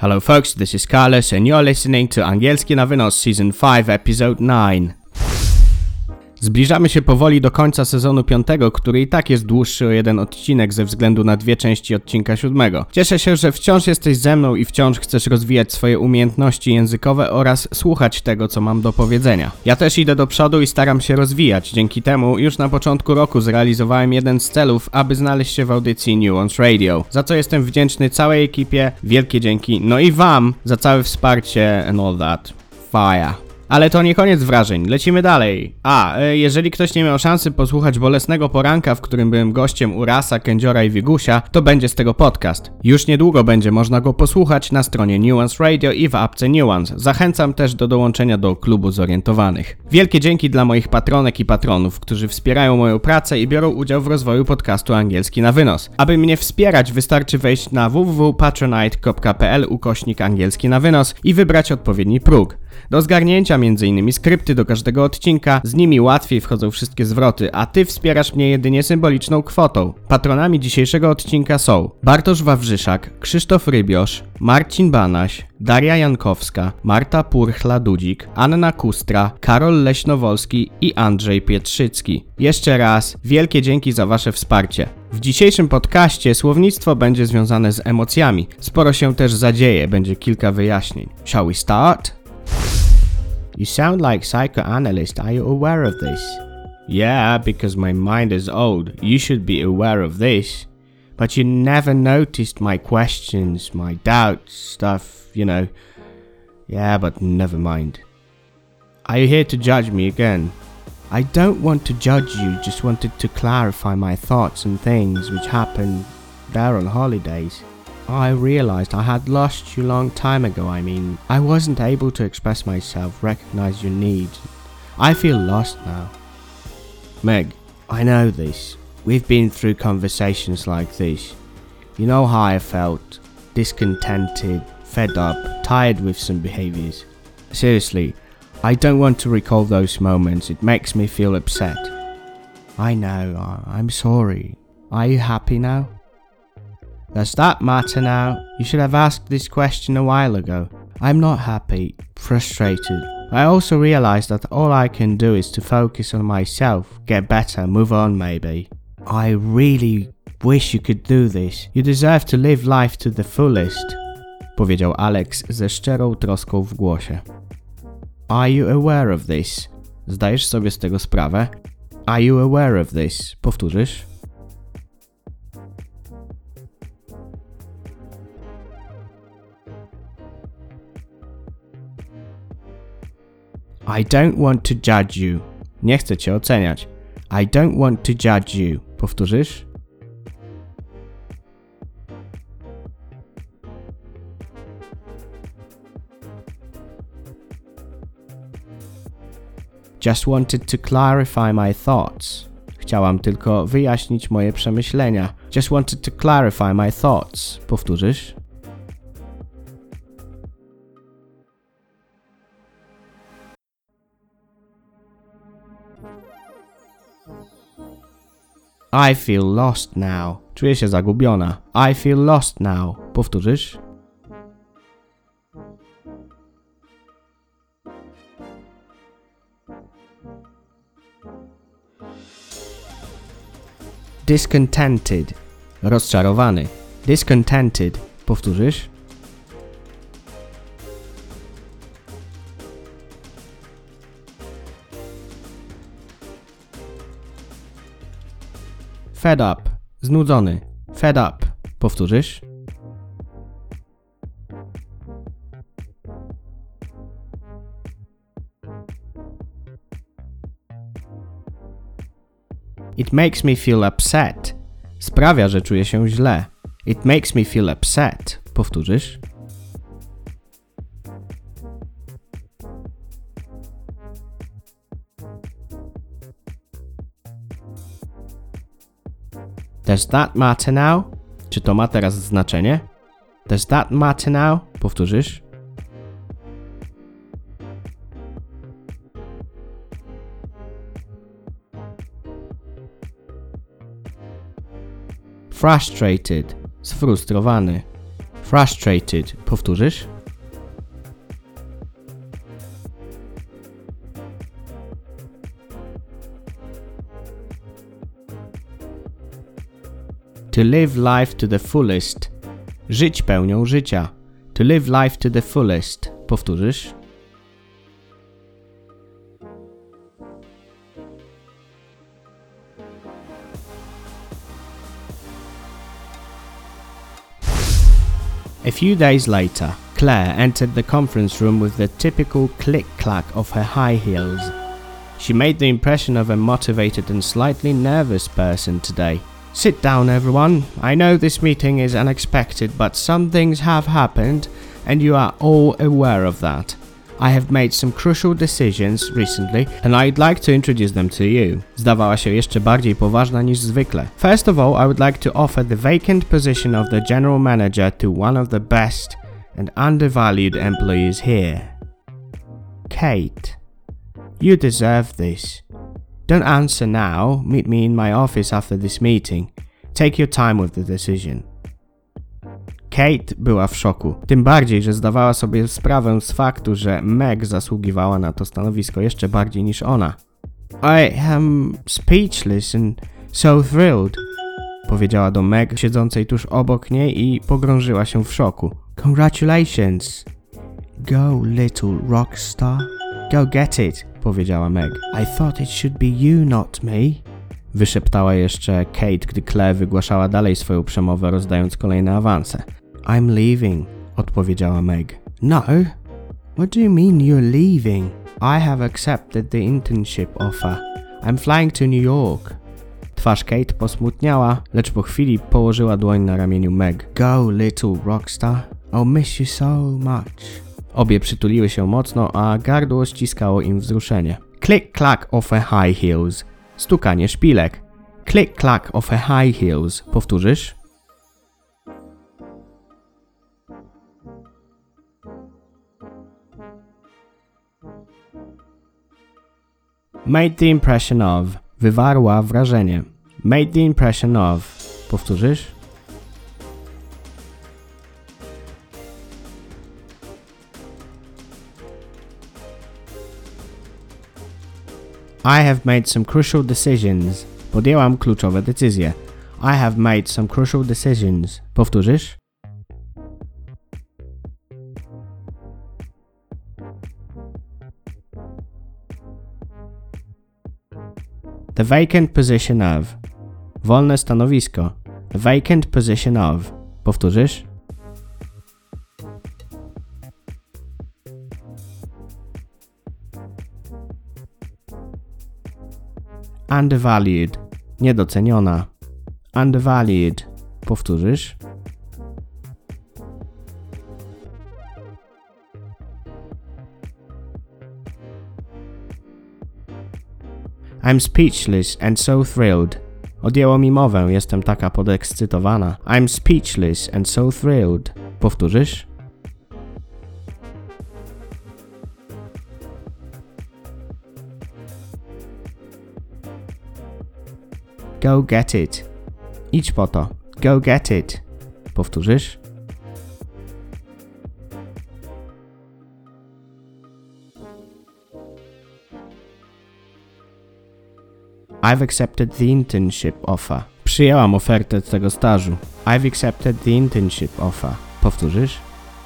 Hello folks, this is Carlos and you're listening to Angielski na Wynos Season 5 Episode 9. Zbliżamy się powoli do końca sezonu 5, który i tak jest dłuższy o jeden odcinek ze względu na dwie części odcinka 7. Cieszę się, że wciąż jesteś ze mną i wciąż chcesz rozwijać swoje umiejętności językowe oraz słuchać tego, co mam do powiedzenia. Ja też idę do przodu i staram się rozwijać. Dzięki temu już na początku roku zrealizowałem jeden z celów, aby znaleźć się w audycji Nuance Radio, za co jestem wdzięczny całej ekipie. Wielkie dzięki. No i wam za całe wsparcie and all that. Fire. Ale to nie koniec wrażeń, lecimy dalej. Jeżeli ktoś nie miał szansy posłuchać bolesnego poranka, w którym byłem gościem u Rasa, Kędziora i Wigusia, to będzie z tego podcast. Już niedługo będzie można go posłuchać na stronie Nuance Radio i w apce Nuance. Zachęcam też do dołączenia do klubu zorientowanych. Wielkie dzięki dla moich patronek i patronów, którzy wspierają moją pracę i biorą udział w rozwoju podcastu Angielski na Wynos. Aby mnie wspierać, wystarczy wejść na www.patronite.pl/angielski na wynos i wybrać odpowiedni próg. Do zgarnięcia m.in. skrypty do każdego odcinka, z nimi łatwiej wchodzą wszystkie zwroty, a ty wspierasz mnie jedynie symboliczną kwotą. Patronami dzisiejszego odcinka są Bartosz Wawrzyszak, Krzysztof Rybiosz, Marcin Banaś, Daria Jankowska, Marta Purchla-Dudzik, Anna Kustra, Karol Leśnowolski i Andrzej Pietrzycki. Jeszcze raz wielkie dzięki za wasze wsparcie. W dzisiejszym podcaście słownictwo będzie związane z emocjami. Sporo się też zadzieje, będzie kilka wyjaśnień. Shall we start? You sound like psychoanalyst, are you aware of this? Yeah, because my mind is old, you should be aware of this. But you never noticed my questions, my doubts, stuff, you know. Yeah, but never mind. Are you here to judge me again? I don't want to judge you, just wanted to clarify my thoughts and things which happened there on holidays. I realized I had lost you long time ago. I wasn't able to express myself, recognize your needs. I feel lost now. Meg, I know this. We've been through conversations like this. You know how I felt. Discontented, fed up, tired with some behaviors. Seriously, I don't want to recall those moments. It makes me feel upset. I know, I'm sorry. Are you happy now? Does that matter now? You should have asked this question a while ago. I'm not happy, frustrated. I also realize that all I can do is to focus on myself, get better, move on maybe. I really wish you could do this. You deserve to live life to the fullest, powiedział Alex ze szczerą troską w głosie. Are you aware of this? Zdajesz sobie z tego sprawę? Are you aware of this? Powtórzysz? I don't want to judge you. Nie chcę cię oceniać. I don't want to judge you. Powtórzysz? Just wanted to clarify my thoughts. Chciałam tylko wyjaśnić moje przemyślenia. Just wanted to clarify my thoughts. Powtórzysz? I feel lost now. Czuję się zagubiona. I feel lost now. Powtórzysz? Discontented. Rozczarowany. Discontented. Powtórzysz? Fed up. Znudzony. Fed up. Powtórzysz? It makes me feel upset. Sprawia, że czuję się źle. It makes me feel upset. Powtórzysz? Does that matter now? Czy to ma teraz znaczenie? Does that matter now? Powtórzysz? Frustrated. Sfrustrowany. Frustrated. Powtórzysz? To live life to the fullest. Żyć pełnią życia. To live life to the fullest. Powtórzysz? A few days later, Claire entered the conference room with the typical click-clack of her high heels. She made the impression of a motivated and slightly nervous person today. Sit down, everyone. I know this meeting is unexpected, but some things have happened, and you are all aware of that. I have made some crucial decisions recently, and I'd like to introduce them to you. Zdawała się jeszcze bardziej poważna niż zwykle. First of all, I would like to offer the vacant position of the general manager to one of the best and undervalued employees here. Kate, you deserve this. Don't answer now. Meet me in my office after this meeting. Take your time with the decision. Kate była w szoku. Tym bardziej, że zdawała sobie sprawę z faktu, że Meg zasługiwała na to stanowisko jeszcze bardziej niż ona. I am speechless and so thrilled, powiedziała do Meg, siedzącej tuż obok niej, i pogrążyła się w szoku. Congratulations. Go, little rockstar. Go get it, powiedziała Meg. I thought it should be you, not me. Wyszeptała jeszcze Kate, gdy Claire wygłaszała dalej swoją przemowę, rozdając kolejne awanse. I'm leaving, odpowiedziała Meg. No? What do you mean you're leaving? I have accepted the internship offer. I'm flying to New York. Twarz Kate posmutniała, lecz po chwili położyła dłoń na ramieniu Meg. Go, little rockstar. I'll miss you so much. Obie przytuliły się mocno, a gardło ściskało im wzruszenie. Click-clack of her high heels. Stukanie szpilek. Click-clack of her high heels. Powtórzysz? Made the impression of. Wywarła wrażenie. Made the impression of. Powtórzysz? I have made some crucial decisions. Podjęłam kluczowe decyzje. I have made some crucial decisions. Powtórzysz? The vacant position of. Wolne stanowisko. The vacant position of. Powtórzysz? Undervalued. Niedoceniona. Undervalued. Powtórzysz? I'm speechless and so thrilled. Odjęło mi mowę, jestem taka podekscytowana. I'm speechless and so thrilled. Powtórzysz? Go get it. Idź po to. Go get it. Powtórzysz? I've accepted the internship offer. Przyjęłam ofertę tego stażu. I've accepted the internship offer. Powtórzysz?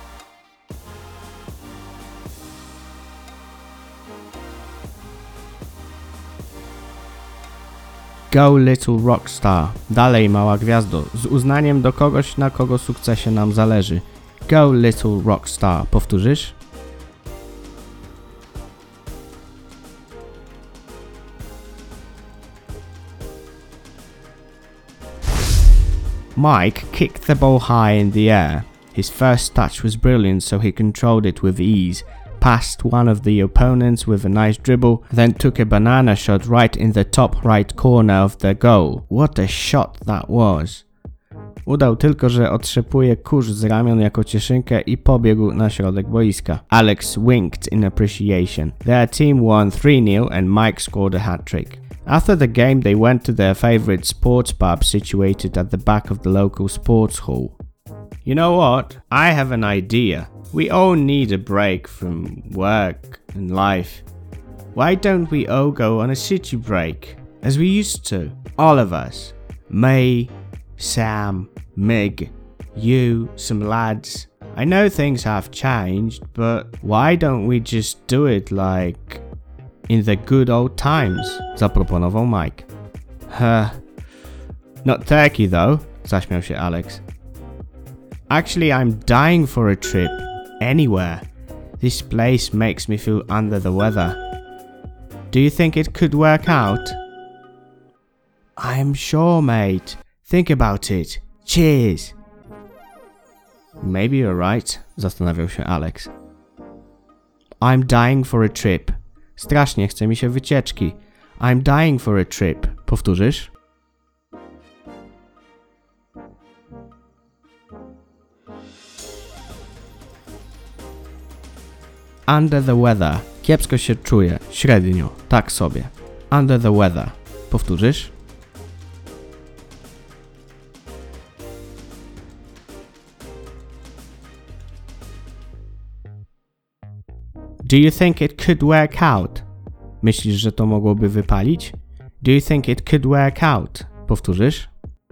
Go little rockstar. Dalej, mała gwiazdo. Z uznaniem do kogoś, na kogo sukcesie nam zależy. Go little rockstar. Powtórzysz? Mike kicked the ball high in the air. His first touch was brilliant, so he controlled it with ease, passed one of the opponents with a nice dribble, then took a banana shot right in the top right corner of the goal. What a shot that was! Udał tylko, że otrzepuje kurz z ramion jako cieszynkę i pobiegł na środek boiska. Alex winked in appreciation. Their team won 3-0 and Mike scored a hat-trick. After the game, they went to their favorite sports pub situated at the back of the local sports hall. You know what? I have an idea. We all need a break from work and life. Why don't we all go on a city break? As we used to. All of us. Me, Sam, Mig, you, some lads. I know things have changed, but why don't we just do it like in the good old times? Zaproponował Mike. Not Turkey though, zaśmiał się Alex. Actually, I'm dying for a trip. Anywhere. This place makes me feel under the weather. Do you think it could work out? I'm sure, mate. Think about it. Cheers. Maybe you're right, zastanawiał się Alex. I'm dying for a trip. Strasznie chce mi się wycieczki. I'm dying for a trip. Powtórzysz? Under the weather. Kiepsko się czuję. Średnio. Tak sobie. Under the weather. Powtórzysz? Do you think it could work out? Myślisz, że to mogłoby wypalić? Do you think it could work out? Powtórzysz?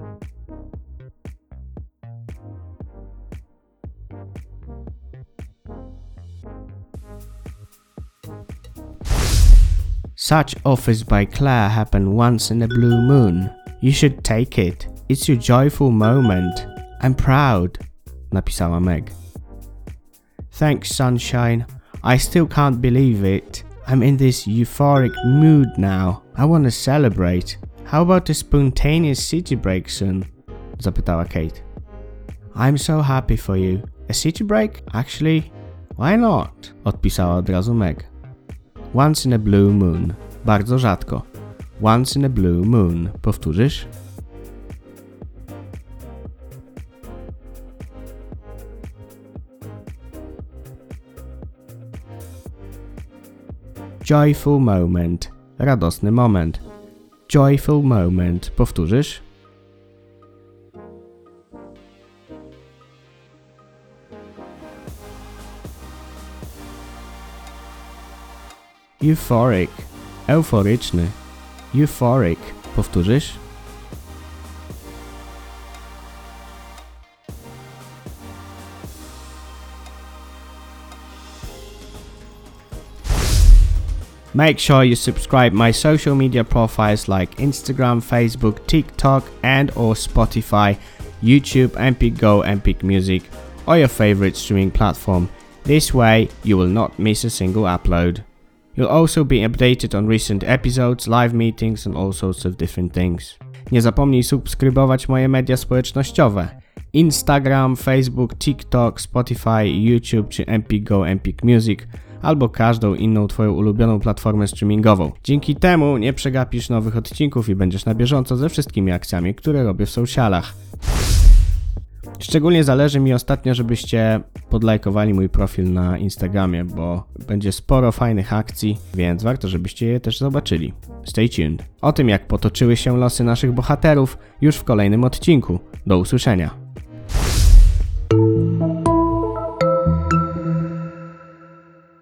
Such offers by Claire happen once in a blue moon. You should take it. It's your joyful moment. I'm proud, napisała Meg. Thanks, sunshine. I still can't believe it. I'm in this euphoric mood now. I want to celebrate. How about a spontaneous city break soon? Zapytała Kate. I'm so happy for you. A city break? Actually, why not? Odpisała od razu Meg. Once in a blue moon. Bardzo rzadko. Once in a blue moon. Powtórzysz? Joyful moment. Radosny moment. Joyful moment. Powtórzysz? Euphoric. Euforyczny. Euphoric. Powtórzysz? Make sure you subscribe my social media profiles like Instagram, Facebook, TikTok and or Spotify, YouTube, Empik Go, Empik Music or your favorite streaming platform. This way you will not miss a single upload. You'll also be updated on recent episodes, live meetings and all sorts of different things. Nie zapomnij subskrybować moje media społecznościowe. Instagram, Facebook, TikTok, Spotify, YouTube czy Empik Go, Empik Music albo każdą inną twoją ulubioną platformę streamingową. Dzięki temu nie przegapisz nowych odcinków i będziesz na bieżąco ze wszystkimi akcjami, które robię w socialach. Szczególnie zależy mi ostatnio, żebyście podlajkowali mój profil na Instagramie, bo będzie sporo fajnych akcji, więc warto, żebyście je też zobaczyli. Stay tuned. O tym, jak potoczyły się losy naszych bohaterów, już w kolejnym odcinku. Do usłyszenia.